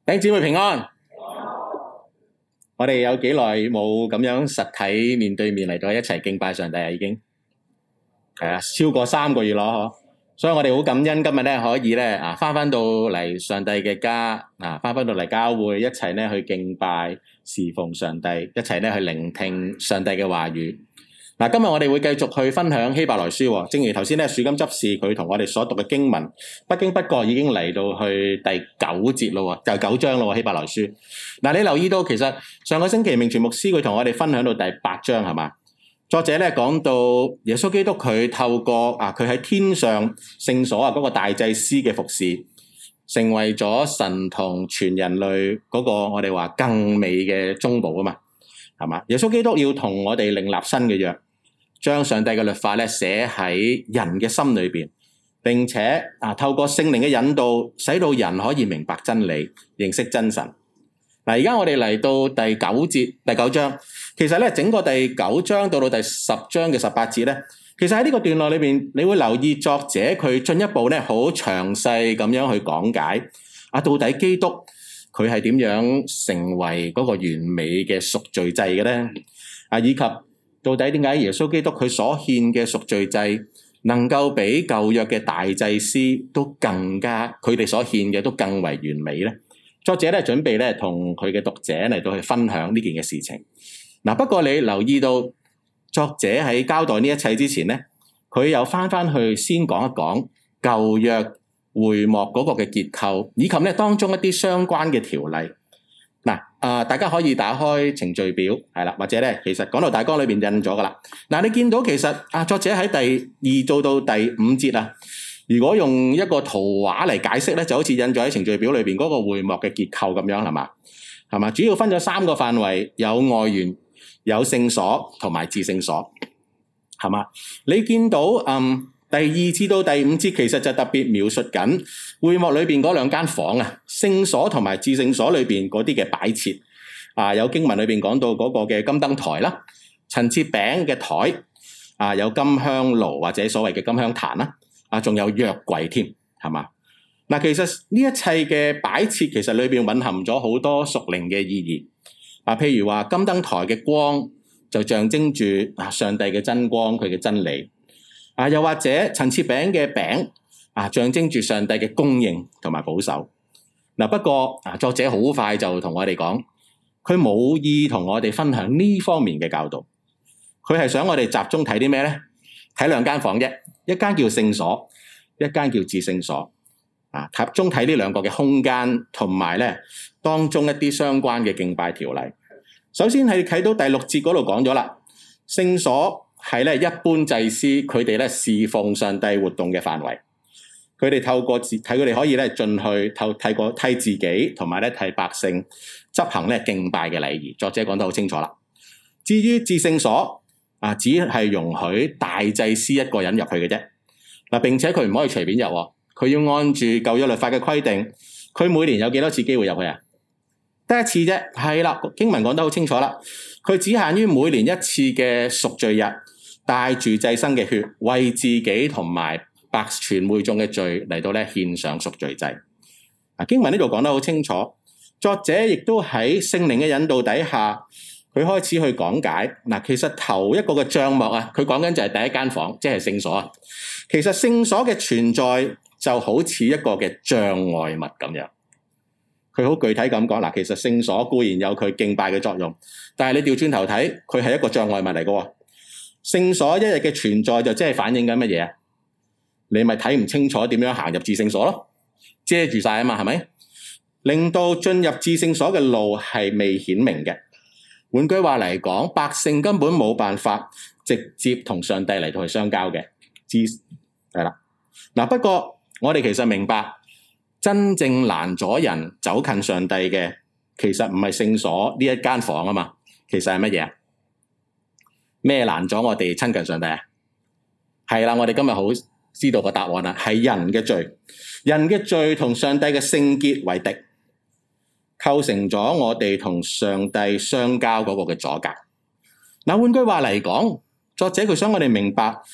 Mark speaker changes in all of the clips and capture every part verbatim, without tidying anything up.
Speaker 1: 弟兄姊妹平安。我哋有幾耐冇咁樣實體面對面嚟到一齊敬拜上帝啊？已經係啊，超過三個月咯，嗬。所以我哋好感恩今日咧可以咧啊，翻翻到嚟上帝嘅家啊，翻翻到嚟教會一齊咧去敬拜侍奉上帝，一齊咧去聆聽上帝嘅話語。嗱，今日我哋會繼續去分享希伯來書，正如頭先咧樹金執事佢同我哋所讀嘅經文，不經不覺已經嚟到去第九節咯，就九章咯，希伯來書。嗱，你留意到其實上個星期明全牧師佢同我哋分享到第八章係嘛？作者咧講到耶穌基督佢透過啊佢喺天上聖所啊嗰個大祭司嘅服侍，成為咗神同全人類嗰個我哋話更美嘅中保啊嘛，係嘛？耶穌基督要同我哋另立新嘅約。將上帝嘅律法咧寫喺人嘅心裏邊，並且啊透過聖靈嘅引導，使到人可以明白真理，認識真神。嗱，而家我哋嚟到第九節第九章，其實咧整個第九章到到第十章嘅十八節咧，其實喺呢個段落裏邊，你會留意作者佢進一步咧好詳細咁樣去講解啊，到底基督佢係點樣成為嗰個完美嘅贖罪祭嘅咧？啊，以及到底點解耶穌基督佢所獻嘅贖罪祭能夠比舊約嘅大祭司都更加，佢哋所獻嘅都更為完美咧？作者咧準備咧同佢嘅讀者嚟到去分享呢件嘅事情。嗱，不過你留意到作者喺交代呢一切之前咧，佢又翻翻去先講一講舊約會幕嗰個嘅結構，以及咧當中一啲相關嘅條例。嗱，啊，大家可以打開程序表，係啦，或者咧，其實講到大綱裏邊印咗噶啦。嗱，你見到其實啊，作者喺第二做到第五節啊，如果用一個圖畫嚟解釋咧，就好似印咗喺程序表裏邊嗰個會幕嘅結構咁樣，係嘛？係嘛？主要分咗三個範圍，有外園、有聖所同埋至聖所，係嘛？你見到嗯。第二至到第五節其實就特別描述緊會幕裏邊嗰兩間房啊，聖所同埋至聖所裏邊嗰啲嘅擺設啊，有經文裏邊講到嗰個嘅金燈台啦、陳設餅嘅台啊，有金香爐或者所謂嘅金香壇啦，啊，仲有約櫃添，係嘛？嗱，其實呢一切嘅擺設其實裏邊蘊含咗好多屬靈嘅意義啊，譬如話金燈台嘅光就象徵住啊上帝嘅真光，佢嘅真理。啊，又或者陳設餅嘅餅啊，象徵住上帝嘅供應同埋保守。嗱，不過啊，作者好快就同我哋講，佢冇意同我哋分享呢方面嘅教導。佢係想我哋集中睇啲咩咧？睇兩間房啫，一間叫聖所，一間叫至聖所。啊，集中睇呢兩個嘅空間，同埋咧當中一啲相關嘅敬拜條例。首先係睇到第六節嗰度講咗啦，聖所係咧一般祭司佢哋咧侍奉上帝活動嘅範圍，佢哋透過自睇佢哋可以咧進去透替過替自己同埋咧替百姓執行咧敬拜嘅禮儀。作者講得好清楚啦。至於至聖所啊，只係容許大祭司一個人入去嘅啫。嗱，並且佢唔可以隨便入，佢要按住舊約律法嘅規定，佢每年有幾多次機會入去啊？得一次啫，係啦，經文講得好清楚啦。佢只限於每年一次嘅贖罪日，帶住祭牲嘅血，為自己同埋百全會眾嘅罪嚟到咧獻上贖罪祭。啊，經文呢度講得好清楚，作者亦都喺聖靈嘅引導底下，佢開始去講解。嗱，其實頭一個嘅帳幕啊，佢講緊就係第一間房，即係聖所啊。其實聖所嘅存在就好似一個嘅障礙物咁樣。佢好具體咁講，嗱，其實聖所固然有佢敬拜嘅作用，但係你調轉頭睇，佢係一個障礙物嚟嘅。聖所一日嘅存在就即係反映緊乜嘢啊？你咪睇唔清楚點樣行入至聖所咯，遮住晒啊嘛，係咪？令到進入至聖所嘅路係未顯明嘅。換句話嚟講，百姓根本冇辦法直接同上帝嚟到去相交嘅。至係啦，嗱，不過我哋其實明白。真正攔阻人走近上帝嘅，其實唔係聖所呢一間房啊嘛，其實係乜嘢？咩攔阻我哋親近上帝啊？係啦，我哋今日好知道個答案啦，係人嘅罪，人嘅罪同上帝嘅聖潔為敵，構成咗我哋同上帝相交嗰個嘅阻隔。嗱，換句話嚟講，作者佢想我哋明白，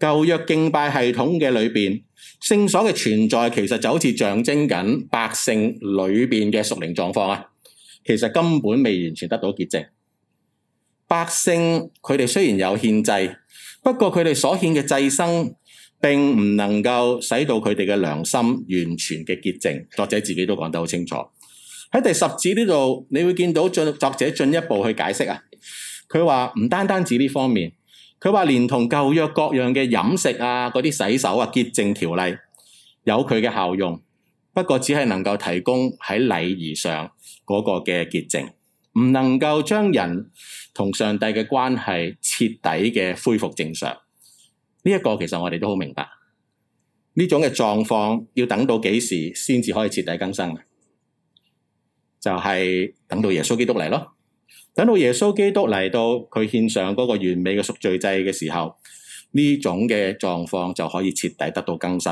Speaker 1: 舊約敬拜系統嘅裏邊，聖所嘅存在其實就好似象徵緊百姓裏邊嘅屬靈狀況啊。其實根本未完全得到潔淨。百姓佢哋雖然有獻祭，不過佢哋所獻嘅祭牲並唔能夠使到佢哋嘅良心完全嘅潔淨。作者自己都講得好清楚。喺第十節呢度，你會見到作者進一步去解釋啊。佢話唔單單指呢方面，佢話連同舊約各樣嘅飲食啊、嗰啲洗手啊、潔淨條例有佢嘅效用，不過只係能夠提供喺禮儀上嗰個嘅潔淨，唔能夠將人同上帝嘅關係徹底嘅恢復正常。呢一個其實我哋都好明白，呢種嘅狀況要等到幾時先至可以徹底更新？就係等到耶穌基督嚟咯。等到耶穌基督嚟到佢獻上嗰個完美嘅贖罪祭嘅時候，呢種嘅狀況就可以徹底得到更新。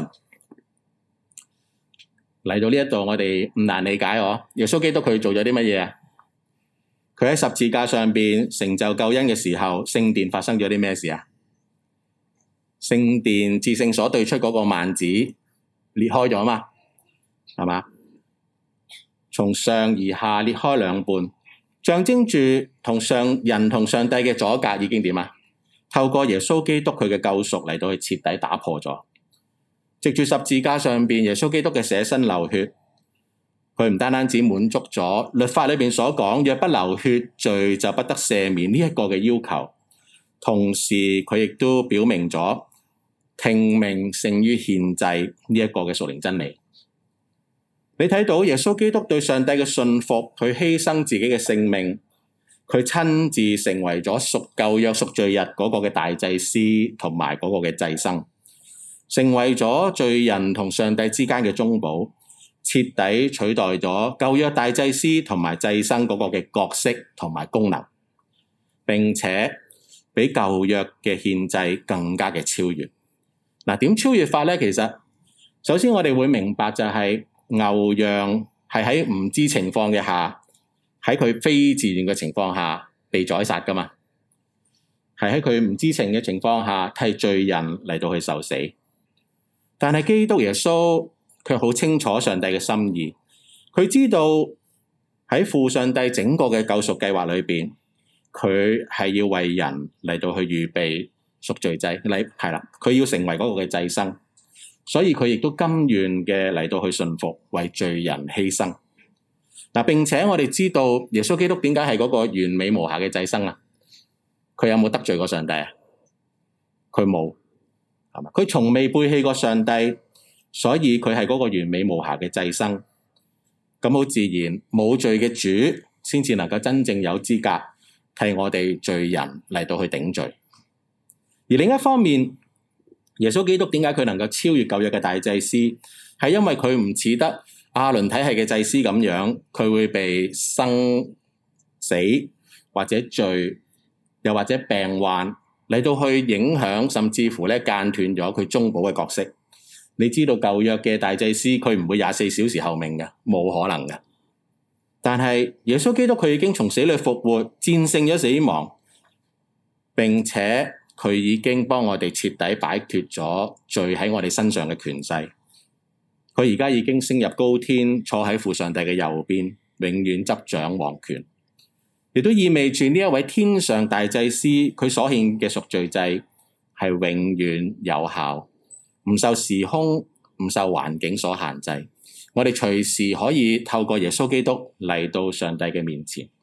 Speaker 1: 嚟到呢一度，我哋唔難理解哦。耶穌基督佢做咗啲乜嘢啊？佢喺十字架上邊成就救恩嘅時候，聖殿發生咗啲咩事啊？聖殿至聖所對出嗰個幔子裂開咗嘛？係嘛？從上而下裂開兩半，象徵住同上人同上帝嘅阻隔已經點啊？透過耶穌基督佢嘅救贖嚟到去徹底打破咗。藉住十字架上邊耶穌基督嘅捨身流血，佢唔單單只滿足咗律法裏邊所講若不流血罪就不得赦免呢一個嘅要求，同時佢亦都表明咗聽命勝於獻祭呢一個嘅屬靈真理。你睇到耶穌基督對上帝嘅信服，佢犧牲自己嘅性命，佢親自成為咗贖舊約贖罪日嗰個嘅大祭司同埋嗰個嘅祭牲，成為咗罪人同上帝之間嘅中保，徹底取代咗舊約大祭司同埋祭牲嗰個嘅角色同埋功能，並且比舊約嘅獻祭更加嘅超越。嗱，點超越法咧？其實首先我哋會明白就係牛羊係喺唔知情況嘅下，喺佢非自願嘅情況下被宰殺噶嘛，係喺佢唔知情嘅情況下替罪人嚟到去受死。但係基督耶穌卻好清楚上帝嘅心意，佢知道喺父上帝整個嘅救贖計劃裏邊，佢係要為人嚟到去預備贖罪祭，嚟係啦，佢要成為嗰個嘅祭牲。所以佢亦都甘願嘅嚟到去順服，為罪人犧牲。嗱，並且我哋知道耶穌基督點解係嗰個完美無瑕嘅祭牲啊？佢有冇得罪過上帝啊？佢冇，係嘛？佢從未背棄過上帝，所以佢係嗰個完美無瑕嘅祭牲。咁好自然，冇罪嘅主先至能夠真正有資格替我哋罪人嚟到去頂罪。而另一方面，耶穌基督點解佢能夠超越舊約嘅大祭司？係因為佢唔似得亞倫體系嘅祭司咁樣，佢會被生死或者罪，又或者病患嚟到去影響，甚至乎咧間斷咗佢中保嘅角色。你知道舊約嘅大祭司佢唔會廿四小時候命嘅，冇可能嘅。但係耶穌基督佢已經從死裏復活，戰勝咗死亡，並且佢已經幫我哋徹底擺脫咗罪喺我哋身上嘅權勢。佢而家已經升入高天，坐喺父上帝嘅右邊，永遠執掌王權。亦都意味住呢一位天上大祭司，佢所獻嘅贖罪祭係永遠有效，唔受時空、唔受環境所限制。我哋隨時可以透過耶穌基督嚟到上帝嘅面前。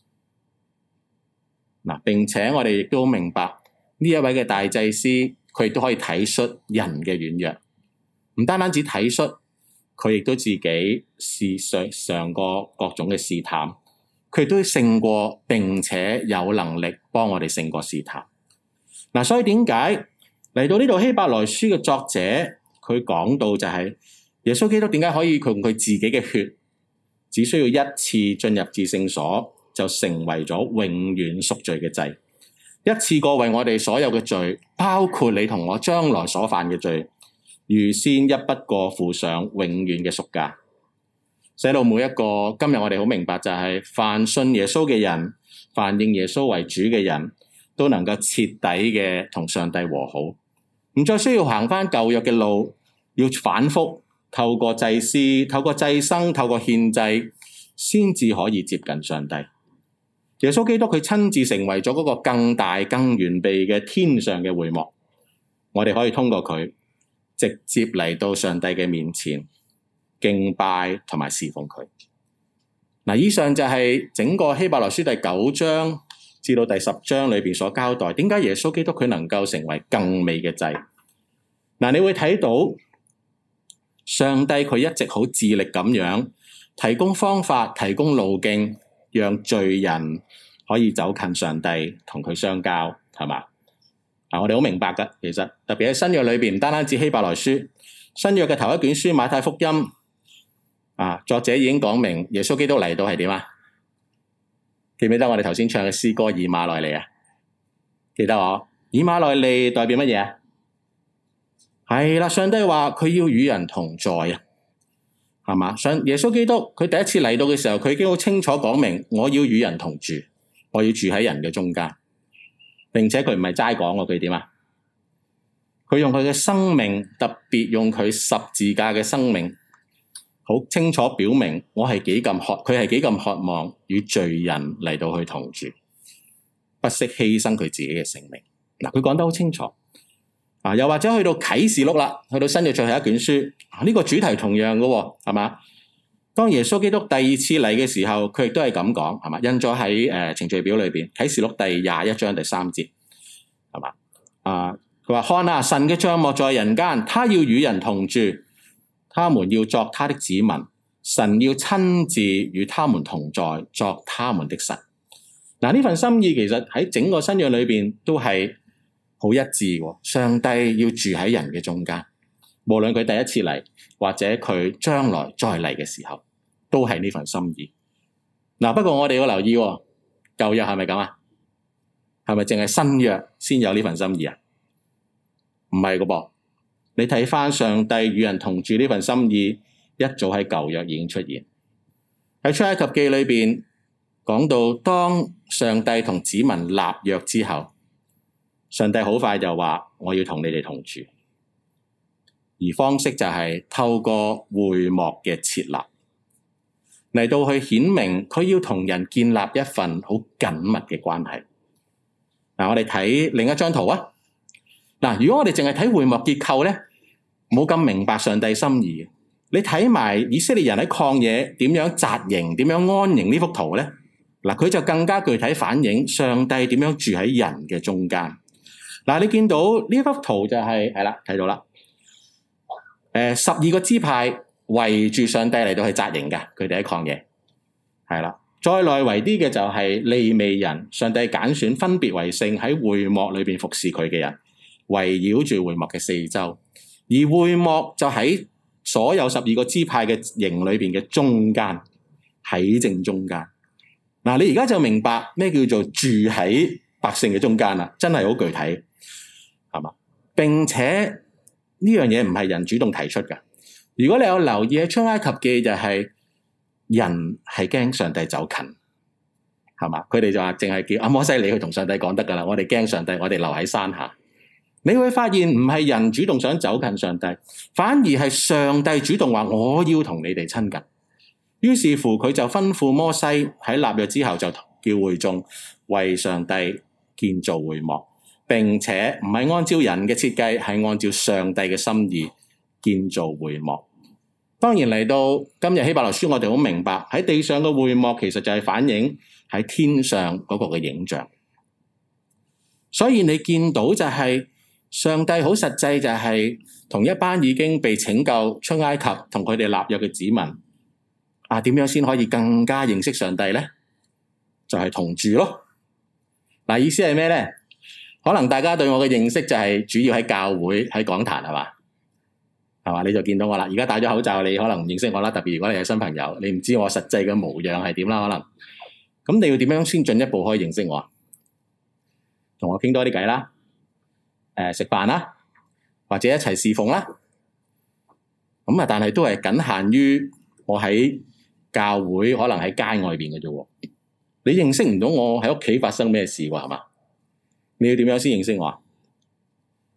Speaker 1: 嗱，並且我哋亦都明白呢一位嘅大祭司，佢亦都可以體恤人嘅軟弱，唔單單只體恤，佢亦都自己試上上過各種嘅試探，佢亦都勝過，並且有能力幫我哋勝過試探。嗱，所以點解嚟到呢度希伯來書嘅作者，佢講到就係耶穌基督點解可以用佢自己嘅血，只需要一次進入至聖所，就成為咗永遠贖罪嘅祭。一次過為我哋所有嘅罪，包括你同我將來所犯嘅罪，預先一筆過付上永遠嘅贖價，使到每一個今日我哋好明白就係凡信耶穌嘅人，凡認耶穌為主嘅人都能夠徹底嘅同上帝和好， 唔再需要行返舊約嘅路，要反覆透過祭司、透過祭牲、透過獻祭，先至可以接近上帝。耶穌基督佢親自成為咗嗰個更大、更完備嘅天上嘅會幕，我哋可以通過佢直接嚟到上帝嘅面前敬拜同埋侍奉佢。嗱，以上就係整個希伯來書第九章至到第十章裏邊所交代，點解耶穌基督佢能夠成為更美嘅祭。嗱，你會睇到上帝佢一直好致力咁樣提供方法、提供路徑，讓罪人可以走近上帝，同佢相交，係嘛？嗱，我哋好明白噶，其實特別喺新約裏邊，唔單單止希伯來書，新約嘅頭一卷書馬太福音，啊，作者已經講明耶穌基督嚟到係點啊？記唔記得我哋頭先唱嘅詩歌以馬內利啊？記得我以馬內利代表乜嘢啊？係啦，上帝話佢要與人同在啊。係嘛？上耶穌基督佢第一次嚟到嘅時候，佢已經好清楚講明，我要與人同住，我要住喺人嘅中間，並且佢唔係齋講喎，佢點啊？佢用佢嘅生命，特別用佢十字架嘅生命，好清楚表明我係幾咁渴，佢係幾咁渴望與罪人嚟到去同住，不惜犧牲佢自己嘅性命。嗱，佢講得好清楚。啊，又或者去到啟示錄啦，去到新約最後一卷書，呢、啊這個主題同樣嘅，係嘛？當耶穌基督第二次嚟嘅時候，佢亦都係咁講，係嘛？印咗喺誒程序表裏邊，啟示錄第廿一章第三節，係嘛？啊，佢話看啊，神嘅帳幕在人間，他要與人同住，他們要作他的子民，神要親自與他們同在，作他們的神。嗱、啊，呢份心意其實喺整個新約裏邊都係好一致喎，上帝要住喺人嘅中間，無論佢第一次嚟，或者佢將來再嚟嘅時候，都係呢份心意。嗱，不過我哋要留意喎，舊約係咪咁啊？係咪淨係新約先有呢份心意啊？唔係噶噃，你睇翻上帝與人同住呢份心意，一早喺舊約已經出現。喺出埃及記裏邊講到，當上帝同子民立約之後，上帝好快就話我要同你哋同住，而方式就係透過會幕嘅設立嚟到去顯明佢要同人建立一份好緊密嘅關係。嗱，我哋睇另一張圖啊。嗱，如果我哋淨係睇會幕結構咧，冇咁明白上帝心意。你睇埋以色列人喺曠野點樣紮營、點樣安營呢幅圖咧，嗱，佢就更加具體反映上帝點樣住喺人嘅中間。嗱，你見到呢幅圖就係係啦，睇到啦。誒，十二個支派圍住上帝嚟到去紮營嘅，佢哋喺曠野係啦。再內圍啲嘅就係利未人，上帝揀選分別為聖喺會幕裏邊服侍佢嘅人，圍繞住會幕嘅四周。而會幕就喺所有十二個支派嘅營裏邊嘅中間，喺正中間。嗱，你而家就明白咩叫做住喺百姓嘅中間啦，真係好具體。係嘛？並且呢樣嘢唔係人主動提出嘅。如果你有留意喺出埃及記，就係人係驚上帝走近，係嘛？佢哋就話淨係叫阿摩西你去同上帝講得噶啦。我哋驚上帝，我哋留喺山下。你會發現唔係人主動想走近上帝，反而係上帝主動話我要同你哋親近。於是乎佢就吩咐摩西喺立約之後就叫會眾為上帝建造會幕。並且唔係按照人嘅設計，係按照上帝嘅心意建造會幕。當然嚟到今日希伯來書，我哋好明白喺地上嘅會幕其實就係反映喺天上嗰個嘅影像。所以你見到就係上帝好實際，就係同一班已經被拯救出埃及同佢哋立約嘅子民啊，點樣先可以更加認識上帝咧？就係同住咯。嗱，意思係咩咧？可能大家對我嘅認識就係主要喺教會喺講壇，係嘛？係嘛？你就見到我啦。而家戴咗口罩，你可能唔認識我啦。特別如果你係新朋友，你唔知我實際嘅模樣係點啦。可能咁你要點樣先進一步可以認識我？同我傾多啲偈啦，誒食飯啦，或者一齊侍奉啦。咁啊，但係都係僅限於我喺教會，可能喺街外邊嘅啫。你認識唔到我喺屋企發生咩事喎？係嘛？你要點樣先認識我？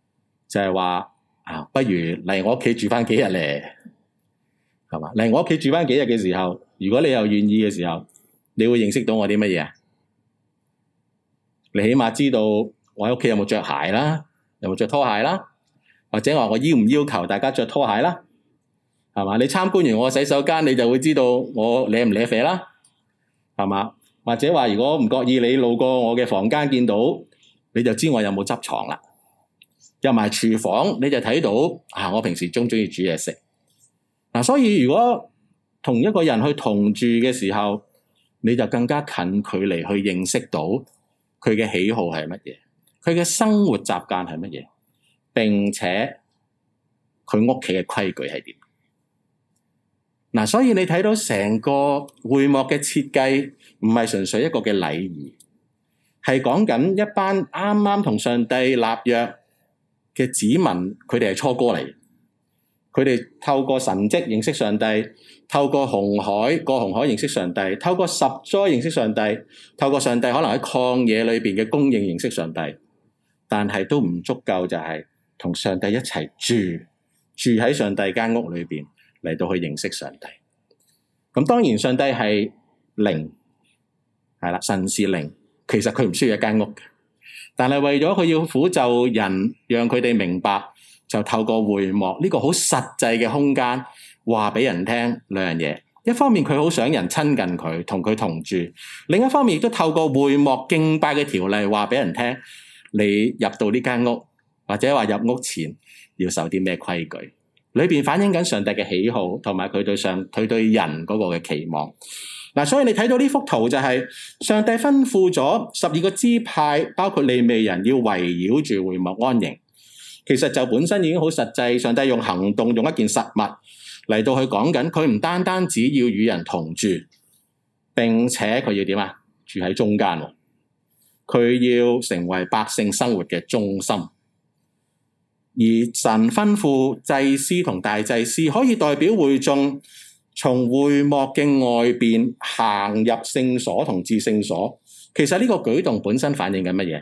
Speaker 1: 就係話啊，不如嚟我屋企住翻幾日咧，係嘛？嚟我屋企住翻幾日嘅時候，如果你又願意嘅時候，你會認識到我啲乜嘢啊？你起碼知道我喺屋企有冇着鞋啦，有冇着拖鞋啦，或者話我要唔要求大家着拖鞋啦，係嘛？你參觀完我洗手間，你就會知道我舐唔舐啡啦，係嘛？或者話如果唔覺意你路過我嘅房間見到，你就知我有冇執床啦。入埋廚房你就睇到啊，我平時中唔中意煮嘢食嗱。所以如果同一個人去同住嘅時候，你就更加近距離去認識到佢嘅喜好係乜嘢，佢嘅生活習慣係乜嘢，並且佢屋企嘅規矩係點嗱。所以你睇到成個會幕嘅設計唔係純粹一個嘅禮儀，係講緊一班啱啱同上帝立約嘅子民，佢哋係初哥嚟，佢哋透過神蹟認識上帝，透過紅海過紅海認識上帝，透過十災認識上帝，透過上帝可能喺曠野裏邊嘅供應認識上帝，但係都唔足夠，就係同上帝一齊住，住喺上帝間屋裏邊嚟到去認識上帝。咁當然上帝係靈，係啦，神是靈，其實佢唔需要一間屋嘅。但係為咗佢要撫就人，讓佢哋明白，就透過會幕呢個好實際嘅空間，話俾人聽兩樣嘢。一方面佢好想人親近佢，同佢同住；另一方面亦都透過會幕敬拜嘅條例，話俾人聽，你入到呢間屋，或者話入屋前要守啲咩規矩，裏邊反映緊上帝嘅喜好，同埋佢對上佢對人嗰個嘅期望。嗱，所以你睇到呢幅圖就係上帝吩咐咗十二個支派，包括利未人要圍繞住會幕安營。其實就本身已經好實際，上帝用行動，用一件實物嚟到去講緊，佢唔單單只要與人同住，並且佢要點啊？住喺中間，佢要成為百姓生活嘅中心。而神吩咐祭司同大祭司可以代表會眾，從會幕嘅外邊行入聖所同至聖所。其實呢個舉動本身反映緊乜嘢？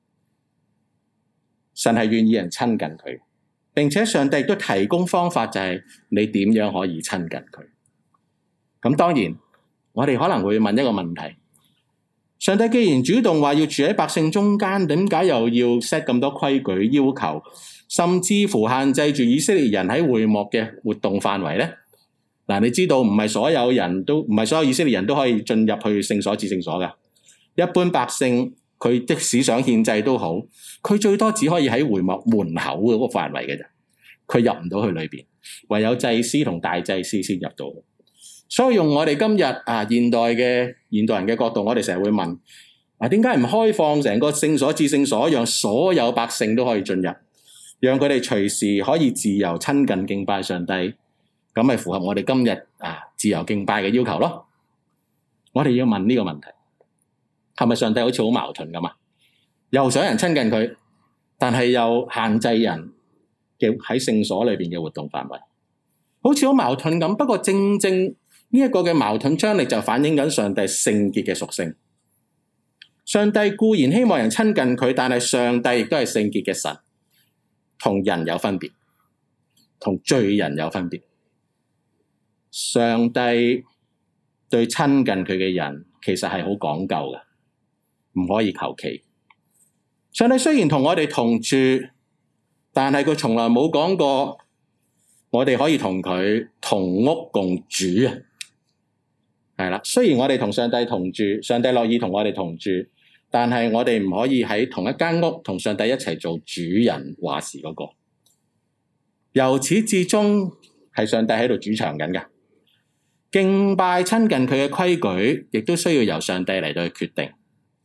Speaker 1: 神係願意人親近佢，並且上帝亦都提供方法，就係你點樣可以親近佢。咁當然我哋可能會問一個問題，上帝既然主動話要住喺百姓中間，點解又要 set 咁多規矩要求，甚至乎限制住以色列人喺會幕嘅活動範圍呢？嗱，你知道唔係所有人都唔係所有以色列人都可以進入去聖所至聖所嘅。一般百姓佢即使想獻祭都好，佢最多只可以喺會幕門口嗰個範圍嘅啫，佢入唔到去裏邊，唯有祭司同大祭司先入到。所以用我哋今日啊現代嘅現代人嘅角度，我哋成日會問啊，點解唔開放成個聖所至聖所，讓所有百姓都可以進入，讓佢哋隨時可以自由親近敬拜上帝？咁咪符合我哋今日啊自由敬拜嘅要求咯。我哋要問呢個問題，係咪上帝好似好矛盾咁啊？又想人親近佢，但係又限制人嘅喺聖所裏邊嘅活動範圍，好似好矛盾咁。不過正正呢一個嘅矛盾張力就反映緊上帝聖潔嘅屬性。上帝固然希望人親近佢，但係上帝亦都係聖潔嘅神，同人有分別，同罪人有分別。上帝對親近佢嘅人其實係好講究嘅，唔可以求其。上帝雖然同我哋同住，但係佢從來冇講過我哋可以同佢同屋共主啊。係啦，雖然我哋同上帝同住，上帝樂意同我哋同住，但係我哋唔可以喺同一間屋同上帝一齊做主人話事嗰個。由始至終係上帝喺度主場緊嘅。敬拜親近佢嘅規矩，亦都需要由上帝嚟到去決定。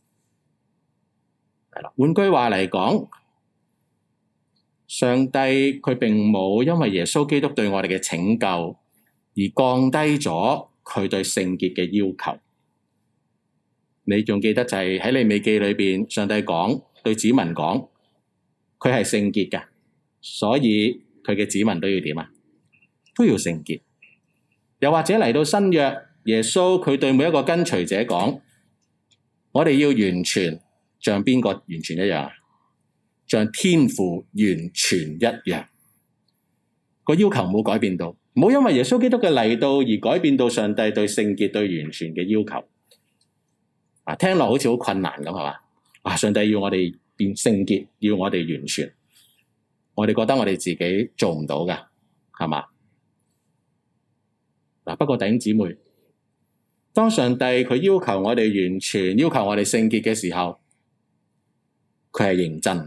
Speaker 1: 係啦，換句話嚟講，上帝佢並冇因為耶穌基督對我哋嘅拯救而降低咗佢對聖潔嘅要求。你仲記得就係喺利未記裏邊，上帝講對子民講，佢係聖潔嘅，所以佢嘅子民都要點啊？都要聖潔。又或者嚟到新約，耶穌佢對每一個跟隨者講，我哋要完全，像邊個完全一樣啊？ 像天父完全一樣。個要求冇改變到，冇因為耶穌基督嘅嚟到而改變到上帝對聖潔、對完全嘅要求。啊，聽落好似好困難咁，係嘛？啊，上帝要我哋變聖潔，要我哋完全，我哋覺得我哋自己做唔到㗎，係嘛？嗱，不過弟兄姊妹，當上帝佢要求我哋完全，要求我哋聖潔嘅時候，佢係認真，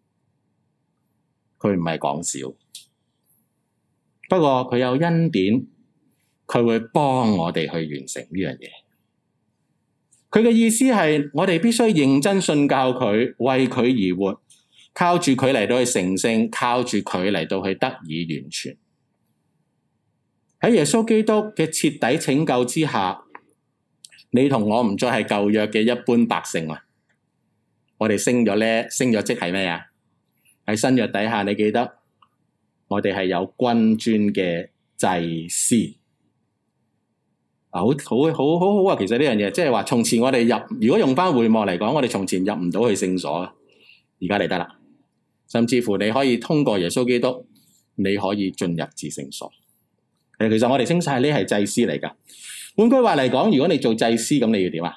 Speaker 1: 佢唔係講笑。不過佢有恩典，佢會幫我哋去完成呢樣嘢。佢嘅意思係，我哋必須認真信教佢，為佢而活，靠住佢嚟到去成聖，靠住佢嚟到去得以完全。喺耶穌基督嘅徹底拯救之下，你同我唔再係舊約嘅一般百姓啦。我哋升咗咧，升咗職係咩啊？喺新約底下，你記得我哋係有君尊嘅祭司。啊，好好好好好啊！其實呢樣嘢，即係話從前我哋入，如果用翻會幕嚟講，我哋從前入唔到去聖所，而家嚟得啦。甚至乎你可以通過耶穌基督，你可以進入至聖所。誒，其實我哋升晒呢係祭司嚟噶。換句話嚟講，如果你做祭司，咁你要點啊？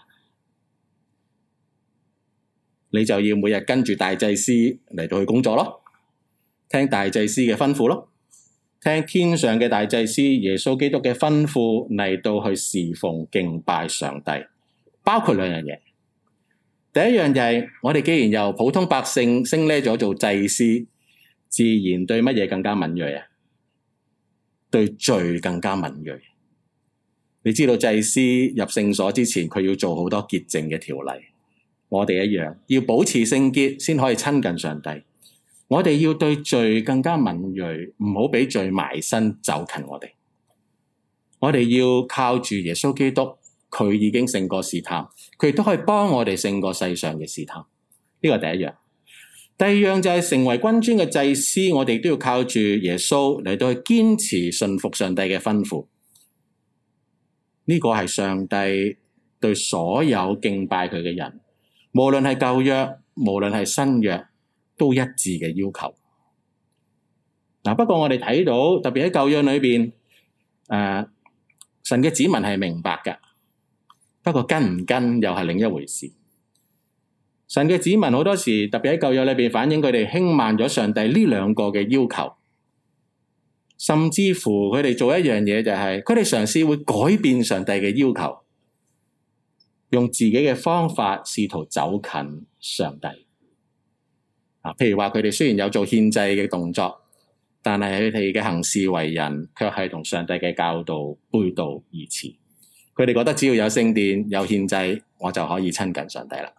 Speaker 1: 你就要每日跟住大祭司嚟到去工作咯，聽大祭司嘅吩咐咯。聽天上嘅大祭司耶穌基督嘅吩咐嚟到去侍奉敬拜上帝，包括兩樣嘢。第一樣就係我哋既然由普通百姓升呢咗做祭司，自然對乜嘢更加敏銳啊？對罪更加敏銳。你知道祭司入聖所之前，佢要做好多潔淨嘅條例，我哋一樣要保持聖潔先可以親近上帝。我哋要對罪更加敏銳，唔好俾罪埋身走近我哋。我哋要靠住耶穌基督，佢已經勝過試探，佢亦都可以幫我哋勝過世上嘅試探。呢個第一樣。第二樣就係成為君尊嘅祭司，我哋都要靠住耶穌嚟到去堅持順服上帝嘅吩咐。呢個係上帝對所有敬拜佢嘅人，無論係舊約，無論係新約，都一致嘅要求。嗱，不過我哋睇到，特別喺舊約裏邊，誒、呃，神嘅子民係明白嘅，不過跟唔跟又係另一回事。神嘅子民好多時，特別喺舊約裏邊，反映佢哋輕慢咗上帝呢兩個嘅要求，甚至乎佢哋做一樣嘢就係，佢哋嘗試會改變上帝嘅要求，用自己嘅方法試圖走近上帝。啊，譬如話佢哋雖然有做獻祭嘅動作，但係佢哋嘅行事為人卻係同上帝嘅教導背道而馳。佢哋覺得只要有聖殿、有獻祭，我就可以親近上帝啦。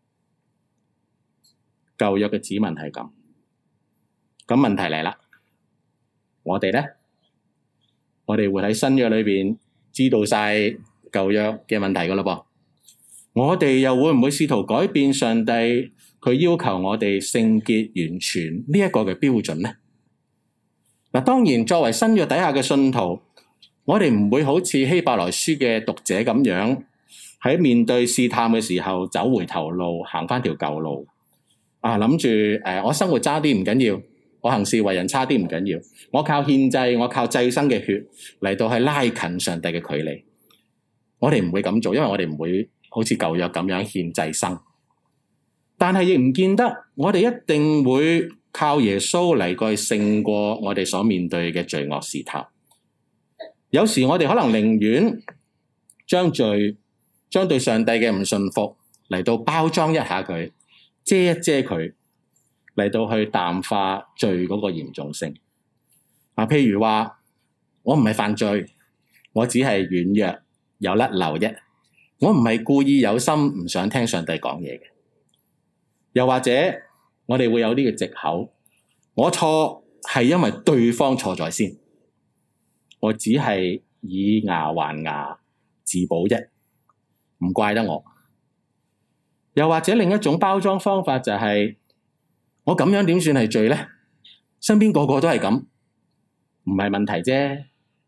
Speaker 1: 舊約嘅子民係咁，咁問題嚟啦。我哋咧，我哋會喺新約裏邊知道晒舊約嘅問題噶啦噃。我哋又會唔會試圖改變上帝佢要求我哋聖潔完全呢一個嘅標準呢？嗱，當然作為新約底下嘅信徒，我哋唔會好似希伯來書嘅讀者咁樣，喺面對試探嘅時候走回頭路，行翻條舊路啊，諗住誒，我生活差啲唔緊要，我行事為人差啲唔緊要，我靠獻祭，我靠祭牲嘅血嚟到去拉近上帝嘅距離。我哋唔會咁做，因為我哋唔會好似舊約咁樣獻祭牲。但係亦唔見得我哋一定會靠耶穌嚟過去勝過我哋所面對嘅罪惡試探。有時我哋可能寧願將罪、將對上帝嘅唔信服嚟到包裝一下佢，遮一遮佢，嚟到去淡化罪嗰個嚴重性。啊，譬如話我唔係犯罪，我只係軟弱有甩漏啫，我唔係故意有心唔想聽上帝講嘢嘅。又或者我哋會有呢個藉口，我錯係因為對方錯在先，我只係以牙還牙自保啫，唔怪得我。又或者另一種包裝方法就係，我咁樣點算係罪呢？身邊個個都係咁，唔係問題啫。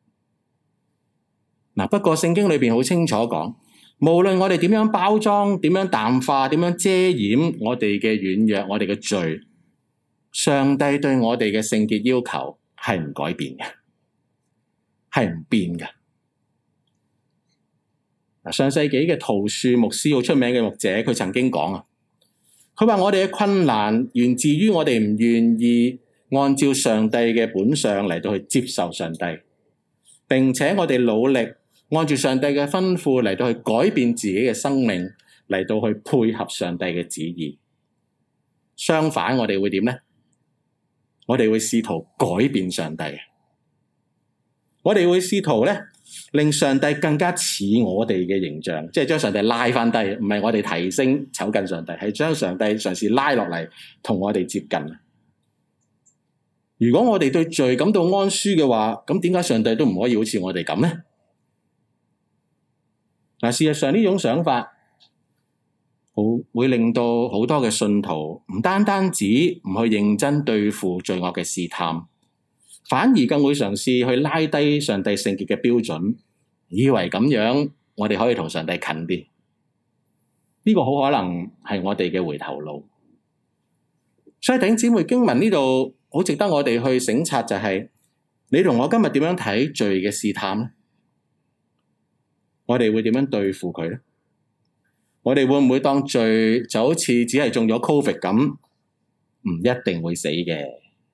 Speaker 1: 嗱，不過聖經裏邊好清楚講，無論我哋點樣包裝、點樣淡化、點樣遮掩我哋嘅軟弱、我哋嘅罪， 上帝對我哋嘅聖潔要求係唔改變嘅，係唔變嘅。上世紀嘅陶樹牧師好出名嘅牧者，佢曾經講啊，佢話我哋嘅困難源自於我哋唔願意按照上帝嘅本相嚟到去接受上帝，並且我哋努力按住上帝嘅吩咐嚟到去改變自己嘅生命，嚟到去配合上帝嘅旨意。相反，我哋會點呢？我哋會試圖改變上帝，我哋會試圖咧令上帝更加似我哋嘅形象，即係將上帝拉翻低，唔係我哋提升醜近上帝，係將上帝嘗試拉落嚟同我哋接近。如果我哋對罪感到安舒嘅話，咁點解上帝都唔可以好似我哋咁呢？嗱，事實上呢種想法好會令到好多嘅信徒唔單單止唔去認真對付罪惡嘅試探，反而更會嘗試去拉低上帝聖潔嘅標準，以為咁樣我哋可以同上帝近啲。呢個好可能係我哋嘅回頭路。所以弟兄姊妹，經文呢度好值得我哋去省察，就係你同我今日點樣睇罪嘅試探呢？我哋會點樣對付佢呢？我哋會唔會當罪就好似只係中咗 Covid 咁，唔一定會死嘅？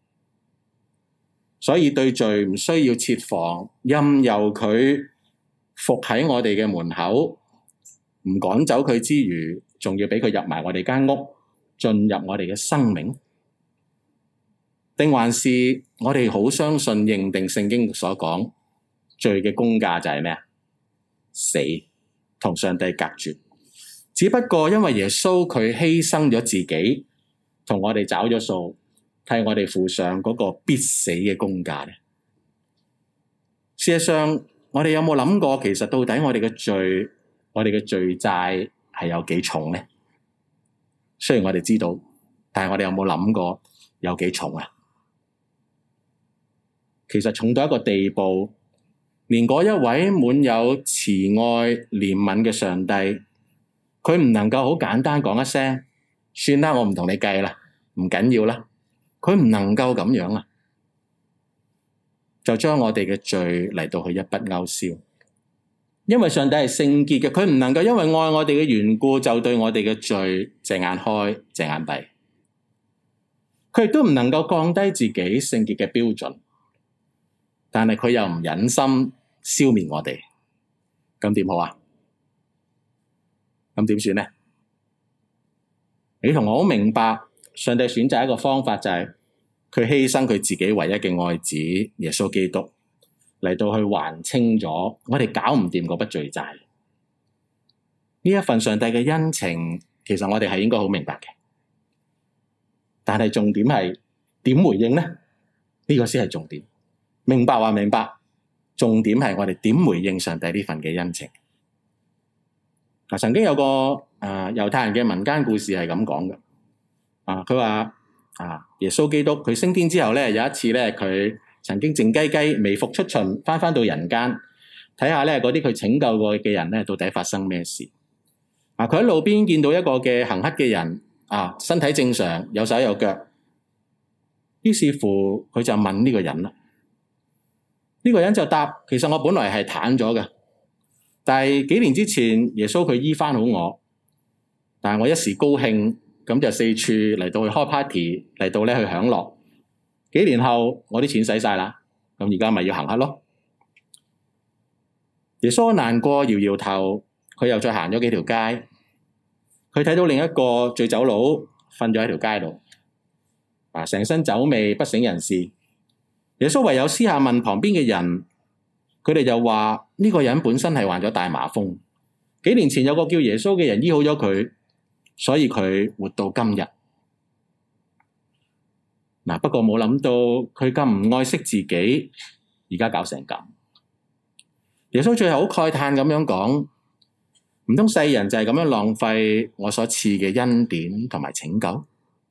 Speaker 1: 所以對罪唔需要設防，任由佢伏喺我哋嘅門口，唔趕走佢之餘，仲要俾佢入埋我哋間屋，進入我哋嘅生命？定還是我哋好相信認定聖經所講，罪嘅工價就係咩啊？死，同上帝隔絕。只不過因為耶穌佢犧牲咗自己，同我哋找咗數，替我哋付上嗰個必死嘅工價咧。事實上，我哋有冇諗過，其實到底我哋嘅罪，我哋嘅罪債係有幾重呢？雖然我哋知道，但係我哋有冇諗過有幾重啊？其實重到一個地步，連嗰一位滿有慈愛憐憫嘅上帝，佢唔能夠好簡單講一聲，算啦，我唔同你計啦，唔緊要啦。佢唔能夠咁樣啊，就將我哋嘅罪嚟到去一筆勾銷。因為上帝係聖潔嘅，佢唔能夠因為愛我哋嘅緣故，就對我哋嘅罪隻眼開隻眼閉。佢亦都唔能夠降低自己聖潔嘅標準，但係佢又唔忍心消滅我哋，咁點好啊？咁點算呢？你同我好明白，上帝選擇一個方法，就係佢犧牲佢自己唯一嘅愛子耶穌基督嚟到去還清咗我哋搞唔掂嗰筆罪債。呢一份上帝嘅恩情，其實我哋係應該好明白嘅，但係重點係點回應呢？呢個先係重點。明白話明白，重點係我哋點回應上帝呢份嘅恩情。啊，曾經有個誒、呃、猶太人嘅民間故事係咁講嘅。啊，佢話啊，耶穌基督佢升天之後咧，有一次咧，佢曾經靜雞雞微服出巡，翻翻到人間睇下咧，嗰啲佢拯救過嘅人咧，到底發生咩事？啊，佢喺路邊見到一個嘅行乞嘅人，啊，身體正常，有手有腳。於是乎，佢就問呢個人啦。呢個人就答：其實我本來係癱咗嘅。但係幾年之前，耶穌佢醫翻好我，但係我一時高興，咁就四處嚟到去開 party，嚟到咧去享樂。幾年後，我啲錢使晒啦，咁而家咪要行乞咯。耶穌難過，搖搖頭，佢又再行咗幾條街，佢睇到另一個醉酒佬瞓咗喺條街度，啊，成身酒味，不省人事。耶穌唯有私下問旁邊嘅人。佢哋就話呢個人本身係患咗大麻風，幾年前有個叫耶穌嘅人醫好咗佢，所以佢活到今日。嗱，不過冇諗到佢咁唔愛惜自己，而家搞成咁。耶穌最後好慨嘆咁樣講：唔通世人就係咁樣浪費我所賜嘅恩典同埋拯救？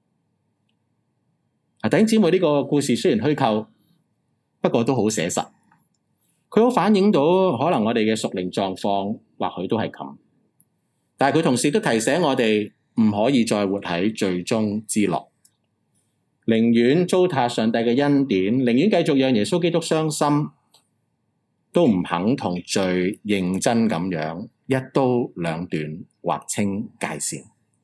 Speaker 1: 啊，弟兄姊妹，呢個故事雖然虛構，不過都好寫實。佢好反映到可能我哋嘅屬靈狀況，或許都係咁。但係佢同時都提醒我哋唔可以再活喺罪中之樂。 寧願糟蹋上帝嘅恩典，寧願繼續讓耶穌基督傷心，都唔肯同罪認真咁樣一刀兩斷劃清界線。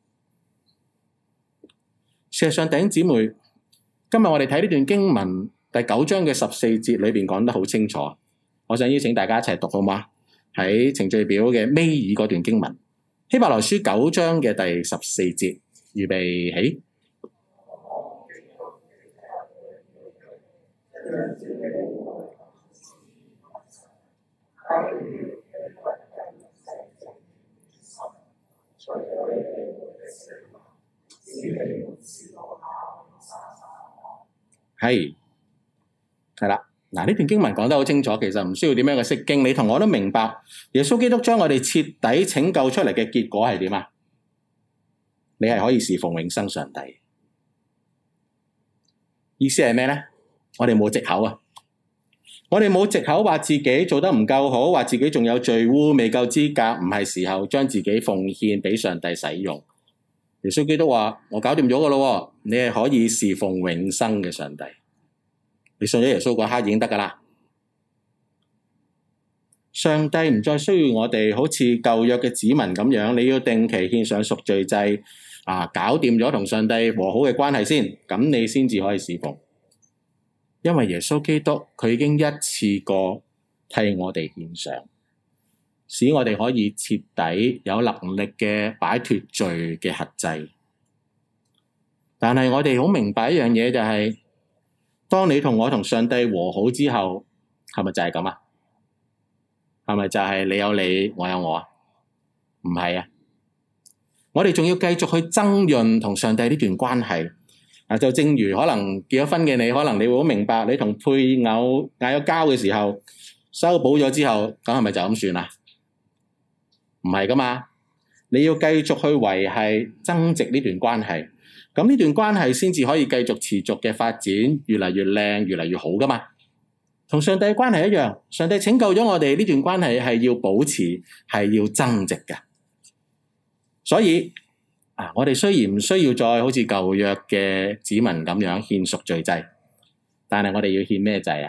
Speaker 1: 事實上，弟兄姊妹，今日我哋睇呢段經文第九章嘅十四節裏邊講得好清楚，我想邀請大家一齊讀好嗎？喺程序表嘅尾二嗰段經文，希伯來書九章嘅第十四節，預備起。係係啦，嗱，呢段經文講得好清楚，其實唔需要點樣嘅釋經，你同我都明白，耶穌基督將我哋徹底拯救出嚟嘅結果係點啊？你係可以侍奉永生上帝。意思係咩咧？我哋冇藉口啊！我哋冇藉口話自己做得唔夠好，話自己仲有罪污未夠資格，唔係時候將自己奉獻俾上帝使用。耶穌基督話：我搞掂咗噶咯，你係可以侍奉永生嘅上帝。你信咗耶穌嗰刻已經得噶啦。上帝唔再需要我哋好似舊約嘅子民咁樣，你要定期獻上贖罪祭啊，搞掂咗同上帝和好嘅關係先，咁你先至可以侍奉。因為耶穌基督佢已經一次過替我哋獻上，使我哋可以徹底有能力嘅擺脫罪嘅轄制。但係我哋好明白一樣嘢，就係當你同我同上帝和好之後，係咪就係咁啊？係咪就係你有你，我有我啊？唔係啊！我哋仲要繼續去增潤同上帝呢段關係。啊，就正如可能結咗婚嘅你，可能你會好明白，你同配偶嗌咗交嘅時候，修補咗之後，咁係咪就咁算啊？唔係噶嘛，你要繼續去維繫增值呢段關係，咁呢段關係先至可以繼續持續嘅發展，越嚟越靚，越嚟越好噶嘛。同上帝嘅關係一樣，上帝拯救咗我哋，呢段關係係要保持，係要增值嘅。所以啊！我哋雖然唔需要再好似舊約嘅子民咁樣獻贖罪祭，但係我哋要獻咩祭啊？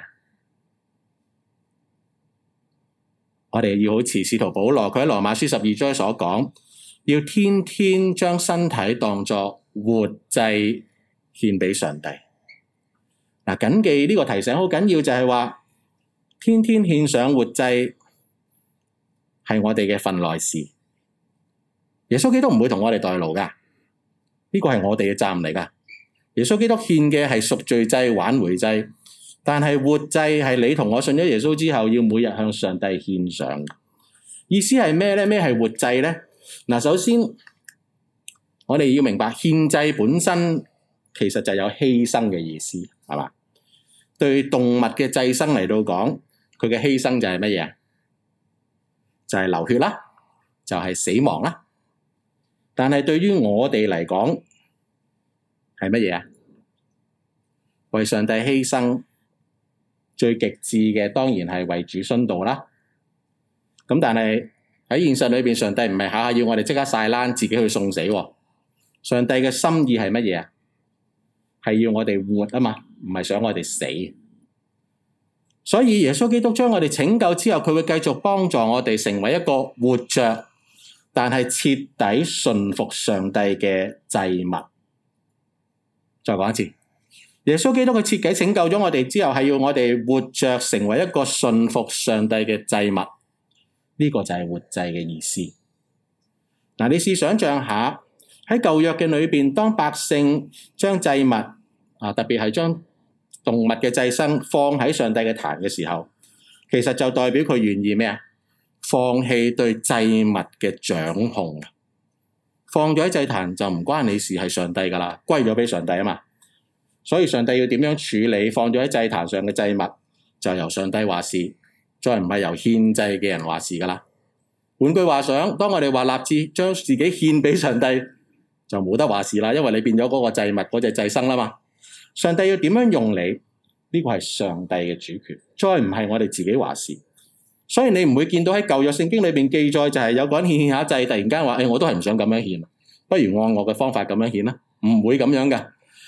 Speaker 1: 我哋要好似使徒保羅佢喺羅馬書十二章所講，要天天將身體當作活祭獻俾上帝。嗱，謹記呢個提醒好緊要，就係話天天獻上活祭係我哋嘅份內事。耶穌基督唔會同我哋代勞噶，呢個係我哋嘅責任嚟噶。耶穌基督獻嘅係贖罪祭、挽回祭，但係活祭係你同我信咗耶穌之後，要每日向上帝獻上。意思係咩咧？咩係活祭咧？嗱，首先我哋要明白獻祭本身其實就有犧牲嘅意思，係嘛？對動物嘅祭牲嚟到講，佢嘅犧牲就係乜嘢？就係流血啦，就係死亡啦。但係對於我哋嚟講係乜嘢啊？為上帝犧牲最極致嘅當然係為主殉道啦。咁但係喺現實裏邊，上帝唔係下下要我哋即刻晒冷自己去送死喎。上帝嘅心意係乜嘢啊？係要我哋活啊嘛，唔係想我哋死。所以耶穌基督將我哋拯救之後，佢會繼續幫助我哋成為一個活着但係徹底順服上帝嘅祭物。再講一次，耶穌基督佢徹底拯救咗我哋之後，係要我哋活着成為一個順服上帝嘅祭物。呢個就係活祭嘅意思。嗱，你試想象下喺舊約嘅裏邊，當百姓將祭物啊，特別係將動物嘅祭牲放喺上帝嘅壇嘅時候，其實就代表佢願意咩啊？放棄對祭物嘅掌控，放咗喺祭壇就唔關你事，係上帝噶啦，歸咗俾上帝啊嘛。所以上帝要點樣處理放咗喺祭壇上嘅祭物，就由上帝話事，再唔係由獻祭嘅人話事噶啦。換句話講，當我哋話立志將自己獻俾上帝，就冇得話事啦，因為你變咗嗰個祭物嗰隻祭牲啦嘛。上帝要點樣用你，呢個係上帝嘅主權，再唔係我哋自己話事。所以你唔會見到喺舊約聖經裏邊記載，就係有個人獻獻下祭，突然間話：誒、哎，我都係唔想咁樣獻，不如按我嘅方法咁樣獻啦。唔會咁樣噶。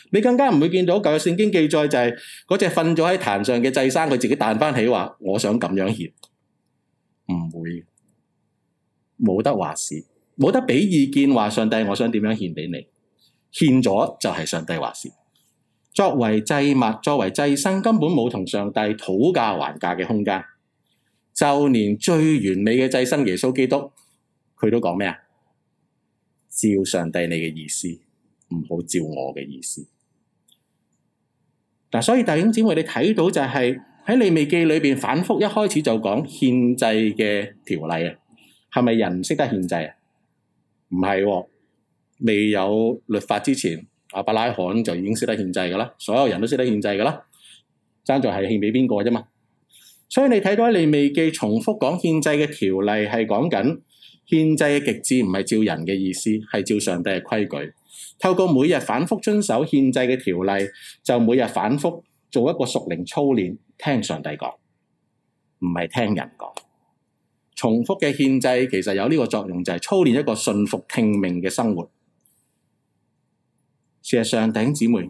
Speaker 1: 你更加唔會見到舊約聖經記載就係嗰隻瞓咗喺壇上嘅祭牲，佢自己彈翻起話我想咁樣獻，唔會，冇得話事，冇得俾意見話上帝我想點樣獻俾你，獻咗就係上帝話事。作為祭物，作為祭牲，根本冇同上帝討價還價嘅空間。就連最完美嘅祭牲耶穌基督，佢都講咩啊？照上帝你嘅意思，唔好照我嘅意思。嗱，所以弟兄姊妹，你睇到就係喺利未記裏邊反覆一開始就講獻祭嘅條例啊，係咪人唔識得獻祭啊？唔係喎，未有律法之前，亞伯拉罕就已經識得獻祭噶啦，所有人都識得獻祭噶啦，爭在係獻俾邊個啫嘛。所以你睇到喺利未記重複講獻祭嘅條例，係講緊獻祭嘅極致唔係照人嘅意思，係照上帝嘅規矩。透過每日反覆遵守獻祭嘅條例，就每日反覆做一個屬靈操練，聽上帝講，唔係聽人講。重複嘅獻祭其實有呢個作用，就係操練一個順服聽命嘅生活。事實上，弟兄姊妹，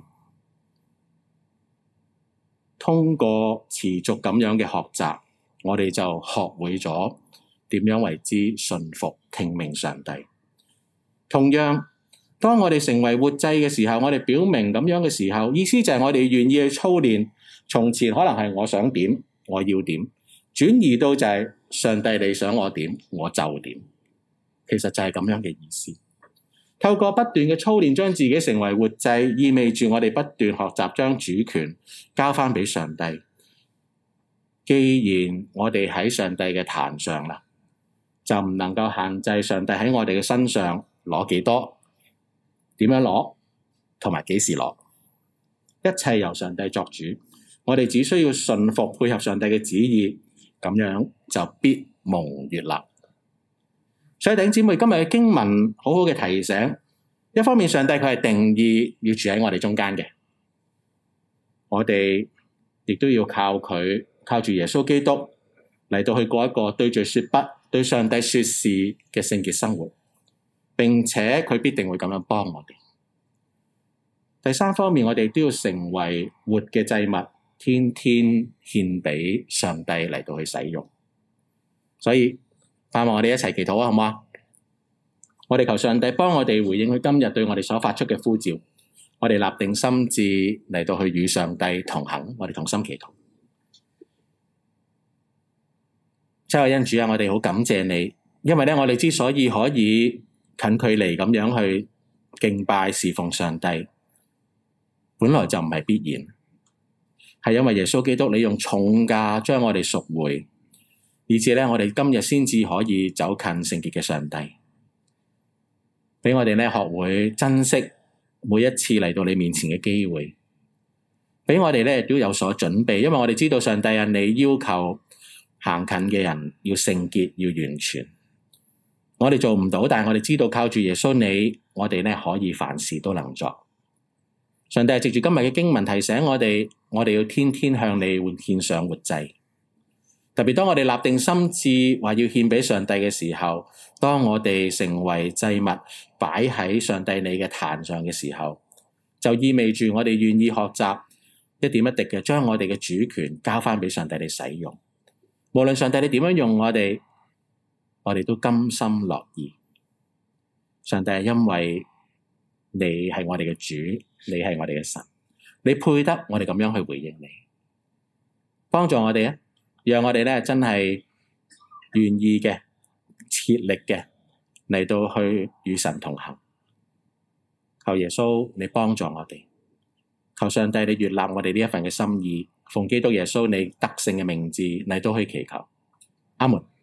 Speaker 1: 通過持續咁樣嘅學習，我哋就學會咗點樣為之順服聽命上帝。同樣，當我哋成為活祭嘅時候，我哋表明咁樣嘅時候，意思就係我哋願意去操練。從前可能係我想點，我要點，轉移到就係上帝你想我點，我就點。其實就係咁樣嘅意思。透過不斷嘅操練，將自己成為活祭，意味住我哋不斷學習將主權交翻俾上帝。既然我哋喺上帝嘅壇上啦，就唔能夠限制上帝喺我哋嘅身上攞幾多、點樣攞，同埋幾時攞。一切由上帝作主，我哋只需要順服配合上帝嘅旨意，咁樣就必蒙悅納。所以弟兄姊妹，今日嘅經文好好嘅提醒，一方面上帝佢係定義要住喺我哋中間嘅，我哋亦都要靠佢，靠住耶穌基督嚟到去過一個對罪說不、對上帝說是嘅聖潔生活，並且佢必定會咁樣幫我哋。第三方面，我哋都要成為活嘅祭物，天天獻俾上帝嚟到去使用。所以盼望我哋一齊祈禱啊，好唔好啊？我哋求上帝幫我哋回應佢今日對我哋所發出嘅呼召，我哋立定心志嚟到去與上帝同行，我哋同心祈禱。親愛恩主啊，我哋好感謝你，因為咧我哋之所以可以近距離咁樣去敬拜侍奉上帝，本來就唔係必然，係因為耶穌基督你用重價將我哋贖回，以致咧我哋今日先至可以走近聖潔嘅上帝，俾我哋咧學會珍惜每一次嚟到你面前嘅機會，俾我哋咧都有所準備，因為我哋知道上帝啊，你要求行近嘅人要聖潔要完全，我哋做唔到，但係我哋知道靠住耶穌你，我哋咧可以凡事都能作。上帝係藉住今日嘅經文提醒我哋，我哋要天天向你獻上活祭。特別當我哋立定心志話要獻俾上帝嘅時候，當我哋成為祭物擺喺上帝你嘅壇上嘅時候，就意味住我哋願意學習一點一滴嘅將我哋嘅主權交翻俾上帝你使用。無論上帝你點樣用我哋，我哋都甘心樂意。上帝係因為你係我哋嘅主，你係我哋嘅神，你配得我哋咁樣去回應你，幫助我哋啊！讓我哋咧真係願意嘅、切力嘅嚟到去與神同行。求耶穌你幫助我哋，求上帝你悅納我哋呢一份嘅心意，奉基督耶穌你得勝嘅名字嚟到去祈求，阿門。